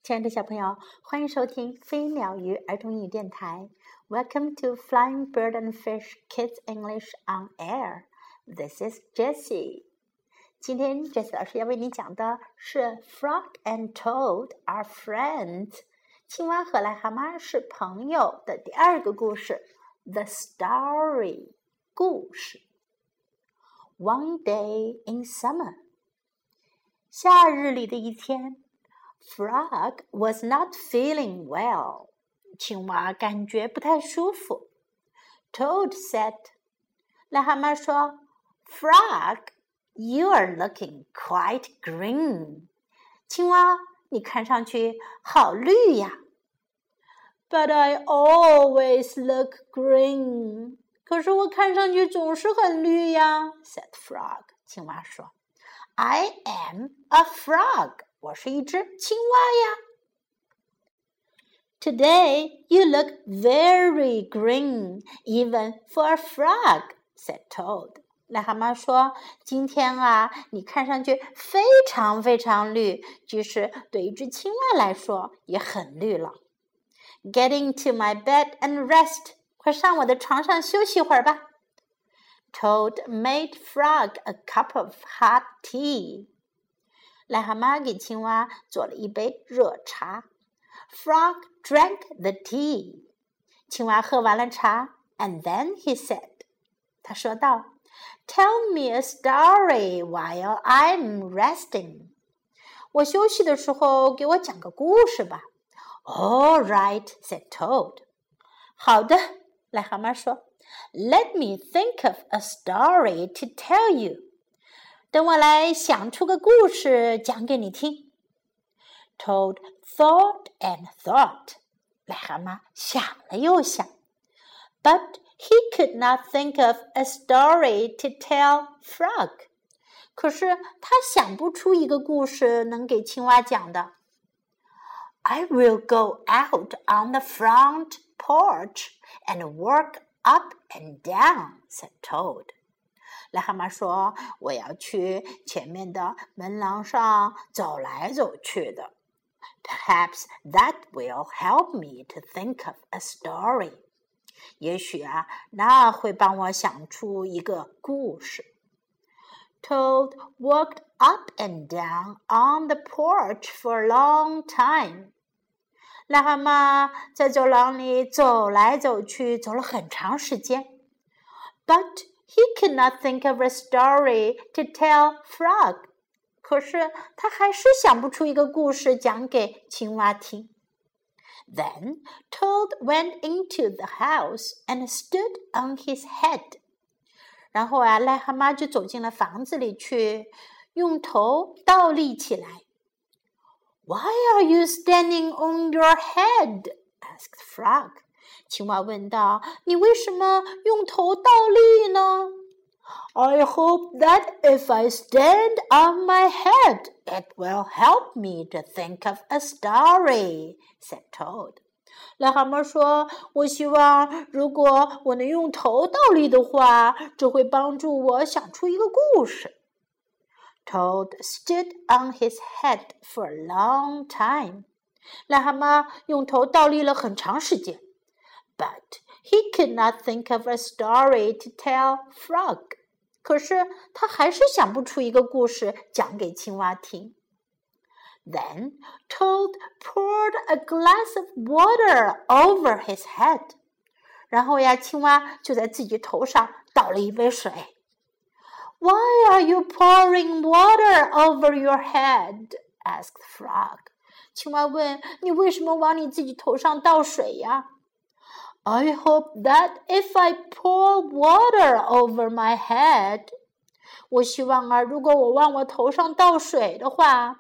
亲爱的小朋友，欢迎收听飞鸟鱼儿童英语电台。Welcome to Flying Bird and Fish Kids English on Air. This is Jessie. 今天 Jessie 老师要为你讲的是 Frog and Toad are friends. 青蛙和癞蛤蟆是朋友的第二个故事 The Story 故事。One day in summer. 夏日里的一天Frog was not feeling well. 青蛙感觉不太舒服。Toad said, 癞蛤蟆说 Frog, you are looking quite green. 青蛙，你看上去好绿呀。But I always look green. 可是我看上去总是很绿呀 said Frog. 青蛙说 I am a frog.我是一只青蛙呀。Today you look very green, even for a frog, said Toad. 癞蛤蟆说，今天啊，你看上去非常非常绿，即使对一只青蛙来说也很绿了。Get into my bed and rest. 快上我的床上休息会儿吧。Toad made Frog a cup of hot tea.癞蛤蟆给青蛙做了一杯热茶。Frog drank the tea. 青蛙喝完了茶 and then he said, 他说道 Tell me a story while I'm resting. 我休息的时候给我讲个故事吧。All right, said Toad. 好的，癞蛤蟆说 Let me think of a story to tell you.等我来想出个故事讲给你听。Toad thought and thought. 癞蛤蟆想了又想。But he could not think of a story to tell Frog. 可是他想不出一个故事能给青蛙讲的。I will go out on the front porch and walk up and down, said Toad.癞蛤蟆说，我要去前面的门廊上走来走去的。Perhaps that will help me to think of a story. 也许啊，那会帮我想出一个故事。Toad walked up and down on the porch for a long time. 癞蛤蟆在走廊里走来走去，走了很长时间。But he could not think of a story to tell Frog. 可是他还是想不出一个故事讲给青蛙听。Then Toad went into the house and stood on his head. 然后啊，癞蛤蟆就走进了房子里去，用头倒立起来。Why are you standing on your head? asked Frog.青蛙问道，你为什么用头倒立呢？ I hope that if I stand on my head, it will help me to think of a story, said Toad. 癞蛤蟆说，我希望如果我能用头倒立的话，这会帮助我想出一个故事。Toad stood on his head for a long time. 癞蛤蟆用头倒立了很长时间。But he could not think of a story to tell Frog. 可是他还是想不出一个故事讲给青蛙听。Then Toad poured a glass of water over his head. 然后呀，青蛙就在自己头上倒了一杯水。Why are you pouring water over your head? asked Frog. 青蛙问，你为什么往你自己头上倒水呀？I hope that if I pour water over my head, 我希望啊，如果我往我头上倒水的话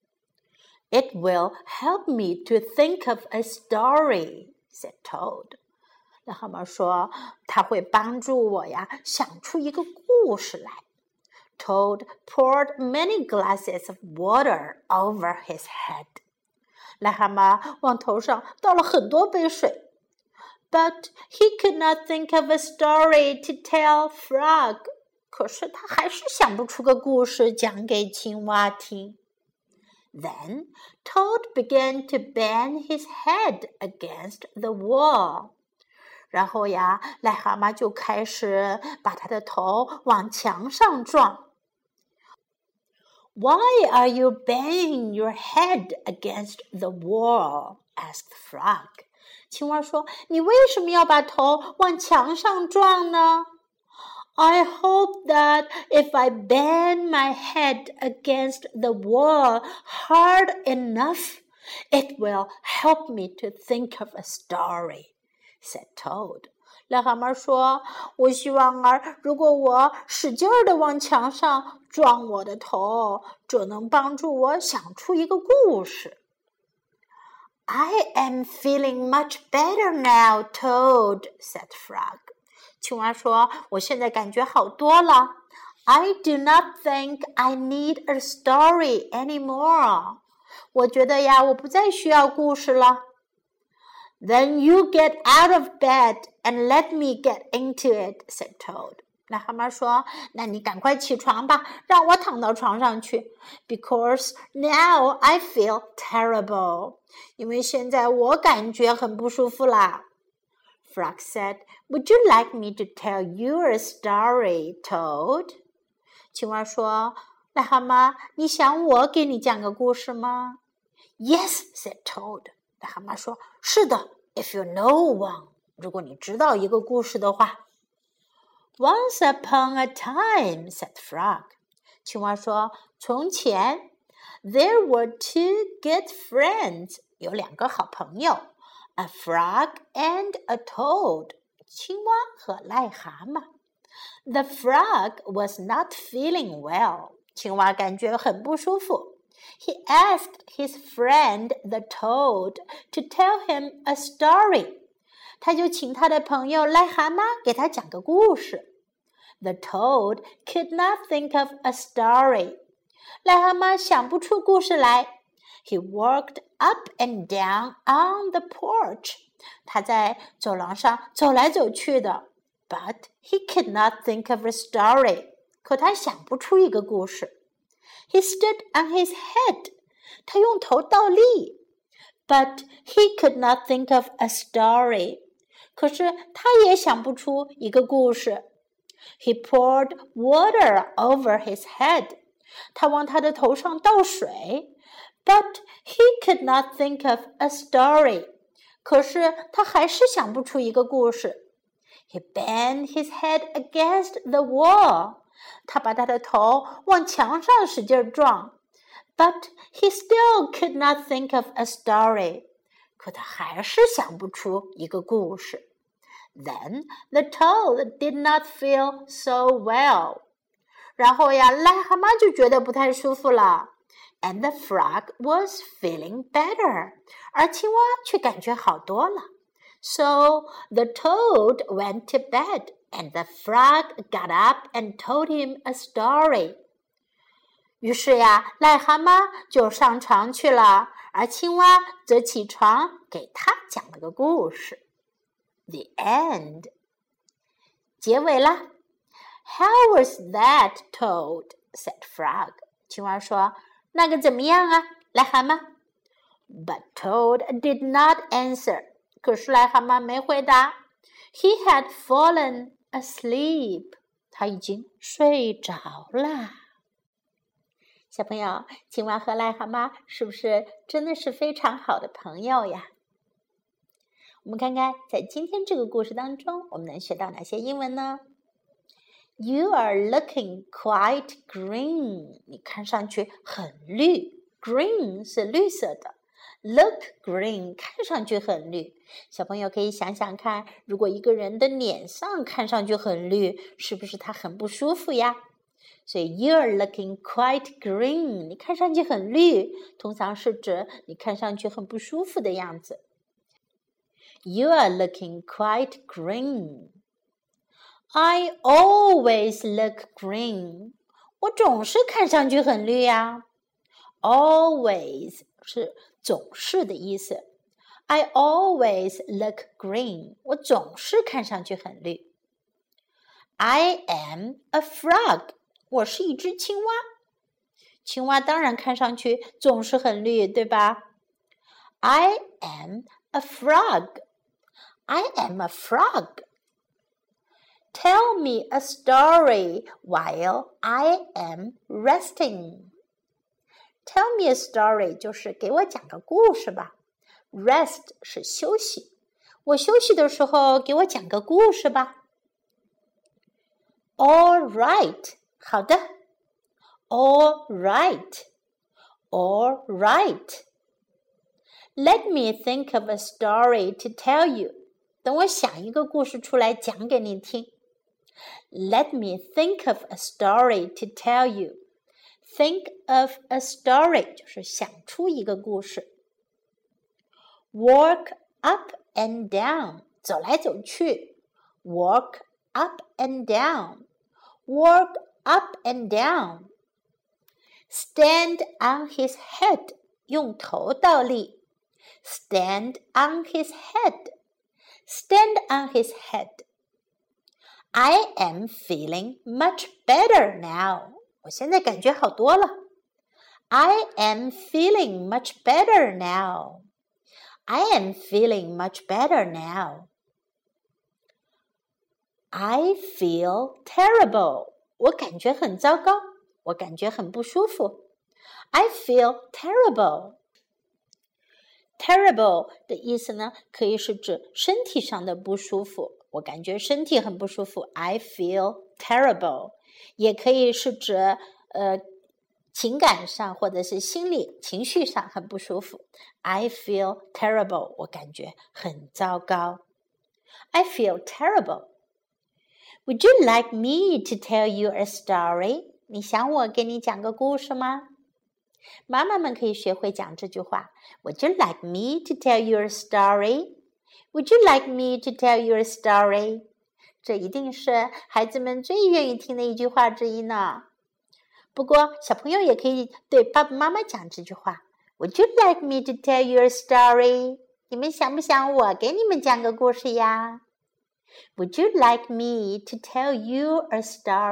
It will help me to think of a story, said Toad. 癞蛤蟆说，它会帮助我呀，想出一个故事来。Toad poured many glasses of water over his head. 癞蛤蟆往头上倒了很多杯水。But he could not think of a story to tell Frog. 可是他还是想不出个故事讲给青蛙听。 Then Toad began to bang his head against the wall. 然后呀，癞蛤蟆就开始把他的头往墙上撞。Why are you banging your head against the wall? asked Frog. 青蛙说：“你为什么要把头往墙上撞呢？” I hope that if I bang my head against the wall hard enough, it will help me to think of a story, said Toad. 癞蛤蟆说：“我希望如果我使劲地往墙上撞我的头，这能帮助我想出一个故事。” I am feeling much better now, Toad, said Frog. 青蛙说：“我现在感觉好多了。I do not think I need a story anymore. 我觉得呀，我不再需要故事了。” Then you get out of bed and let me get into it, said Toad. 癞蛤蟆说：“那你赶快起床吧，让我躺到床上去。Because now I feel terrible. 因为现在我感觉很不舒服啦。” Frog said, Would you like me to tell you a story, Toad? 青蛙说：“癞蛤蟆，你想我给你讲个故事吗？” Yes, said Toad. 癞蛤蟆说：“是的 ，if you know one. 如果你知道一个故事的话。” Once upon a time, said Frog. 青蛙说：“从前 there were two good friends. 有两个好朋友。A frog and a toad. 青蛙和癞蛤蟆。The frog was not feeling well. 青蛙感觉很不舒服。He asked his friend the toad to tell him a story. 他就请他的朋友癞蛤蟆给他讲个故事。The toad could not think of a story. 癞蛤蟆想不出故事来。He walked up and down on the porch. 他在走廊上走来走去的。But he could not think of a story. 可他想不出一个故事。He stood on his head. 他用头倒立。But he could not think of a story. 可是他也想不出一个故事。He poured water over his head. 他往他的头上倒水。But he could not think of a story. 可是他还是想不出一个故事。He banged his head against the wall. 他把他的头往墙上使劲撞。But he still could not think of a story. 可他还是想不出一个故事。Then the toad did not feel so well. 然后呀，癞蛤蟆就觉得不太舒服了。And the frog was feeling better. 而青蛙却感觉好多了。So the toad went to bed, and the frog got up and told him a story. 于是呀，癞蛤蟆就上床去了，而青蛙则起床给他讲了个故事。The end. 结尾啦。How was that, Toad? said Frog. 青蛙说：“那个怎么样啊，癞蛤蟆？” But Toad did not answer. 可是癞蛤蟆没回答。He had fallen asleep. 他已经睡着啦。小朋友，青蛙和癞蛤蟆是不是真的是非常好的朋友呀？我们看看，在今天这个故事当中，我们能学到哪些英文呢？ You are looking quite green. 你看上去很绿。Green 是绿色的。Look green 看上去很绿。小朋友可以想想看，如果一个人的脸上看上去很绿，是不是他很不舒服呀？所以 You are looking quite green. 你看上去很绿，通常是指你看上去很不舒服的样子。You are looking quite green. I always look green. 我总是看上去很绿呀。Always 是总是的意思。I always look green. 我总是看上去很绿。I am a frog. 我是一只青蛙。 青蛙当然看上去总是很绿，对吧？ I am a frog. I am a frog. Tell me a story while I am resting. Tell me a story 就是给我讲个故事吧。Rest 是休息，我休息的时候给我讲个故事吧。All right, 好的。All right, all right. Let me think of a story to tell you. 等我想一个故事出来讲给你听。Let me think of a story to tell you. Think of a story 就是想出一个故事。Walk up and down 走来走去。Walk up and down. Walk up and down. Stand on his head 用头倒立。Stand on his head. Stand on his head. I am feeling much better now. 我现在感觉好多了。I am feeling much better now. I am feeling much better now. I feel terrible. 我感觉很糟糕，我感觉很不舒服。I feel terrible. Terrible 的意思呢，可以是指身体上的不舒服，我感觉身体很不舒服。I feel terrible. 也可以是指情感上或者是心理情绪上很不舒服。I feel terrible. 我感觉很糟糕。I feel terrible. Would you like me to tell you a story? 你想我给你讲个故事吗？妈妈们可以学会讲这句话。Would you like me to tell you a story? Would you like me to tell you a story? 这一定是孩子们最愿意听的一句话之一呢。不过小朋友也可以对爸爸妈妈讲这句话。Would you like me to tell you a story? 你们想不想我给你们讲个故事呀？ Would you like me to tell you a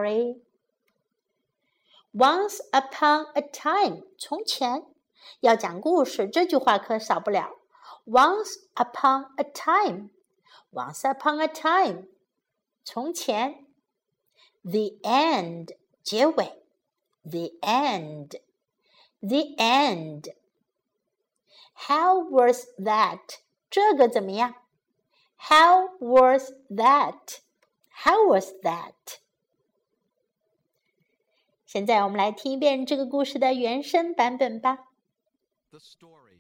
story?Once upon a time, 从前，要讲故事，这句话可少不了。Once upon a time, once upon a time, 从前。The end, 结尾。The end, the end. How was that? 这个怎么样？ How was that? How was that?现在我们来听一遍这个故事的原声版本吧。 The story.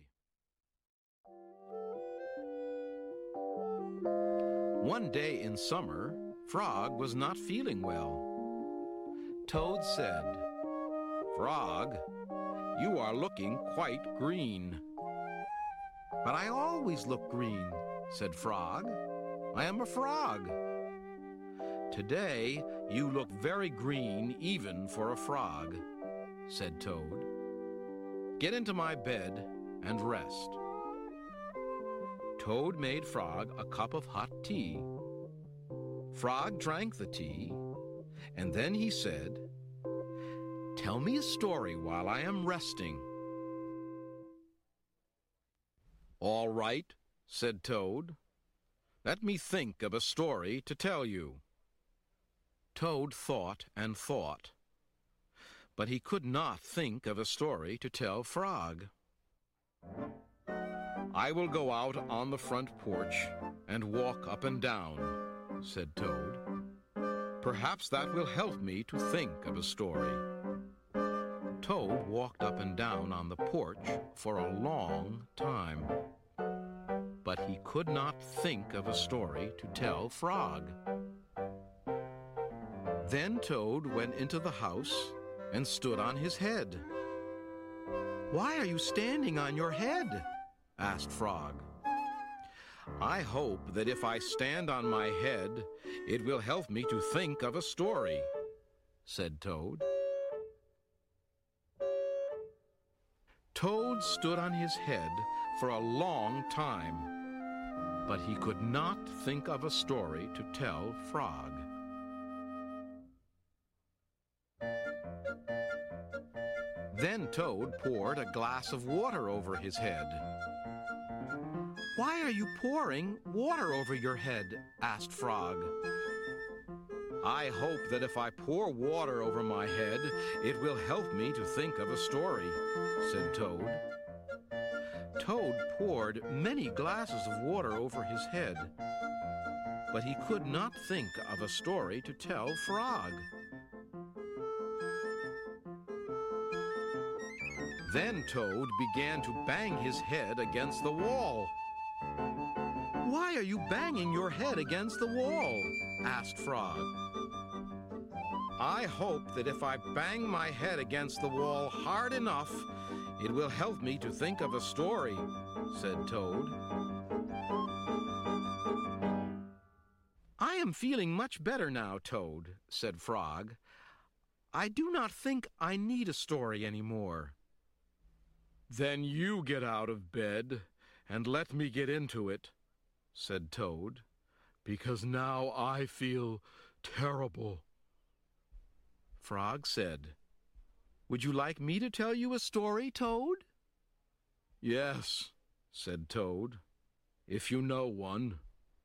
One day in summer, Frog was not feeling well. Toad said, "Frog, you are looking quite green." "But I always look green," said Frog. "I am a frog." "Today you look very green even for a frog," said Toad. "Get into my bed and rest." Toad made Frog a cup of hot tea. Frog drank the tea, and then he said, "Tell me a story while I am resting." "All right," said Toad. "Let me think of a story to tell you." Toad thought and thought, but he could not think of a story to tell Frog. "I will go out on the front porch and walk up and down," said Toad. "Perhaps that will help me to think of a story." Toad walked up and down on the porch for a long time, but he could not think of a story to tell Frog. Then Toad went into the house and stood on his head. "Why are you standing on your head?" asked Frog. "I hope that if I stand on my head, it will help me to think of a story," said Toad. Toad stood on his head for a long time, but he could not think of a story to tell Frog. Then Toad poured a glass of water over his head. "Why are you pouring water over your head?" asked Frog. "I hope that if I pour water over my head, it will help me to think of a story," said Toad. Toad poured many glasses of water over his head, but he could not think of a story to tell Frog. Then Toad began to bang his head against the wall. "Why are you banging your head against the wall?" asked Frog. "I hope that if I bang my head against the wall hard enough, it will help me to think of a story," said Toad. "I am feeling much better now, Toad," said Frog. "I do not think I need a story any more." "Then you get out of bed and let me get into it," said Toad, "because now I feel terrible." Frog said, "Would you like me to tell you a story, Toad?" "Yes," said Toad, "if you know one."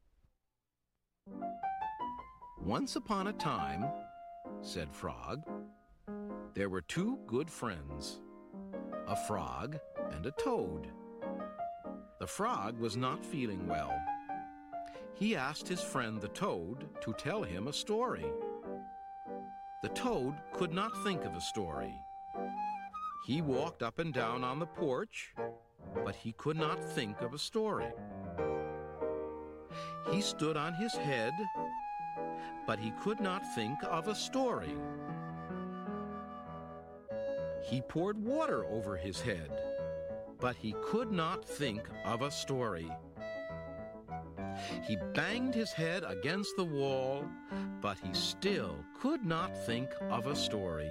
"Once upon a time," said Frog, "there were two good friends, a frog and a toad. The frog was not feeling well. He asked his friend the toad to tell him a story. The toad could not think of a story. He walked up and down on the porch, but he could not think of a story. He stood on his head, but he could not think of a story. He poured water over his head, but he could not think of a story. He banged his head against the wall, but he still could not think of a story.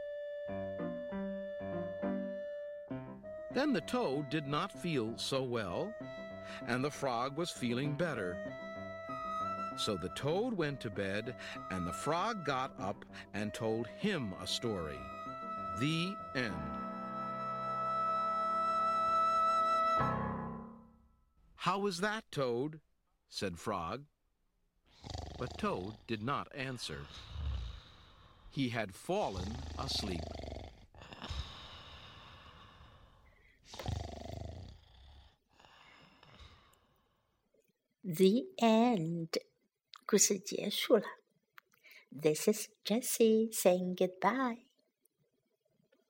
Then the toad did not feel so well, and the frog was feeling better. So the toad went to bed, and the frog got up and told him a story. The end. "How was that, Toad?" said Frog. But Toad did not answer. He had fallen asleep. The end. 故事结束了。This is Jessie saying goodbye.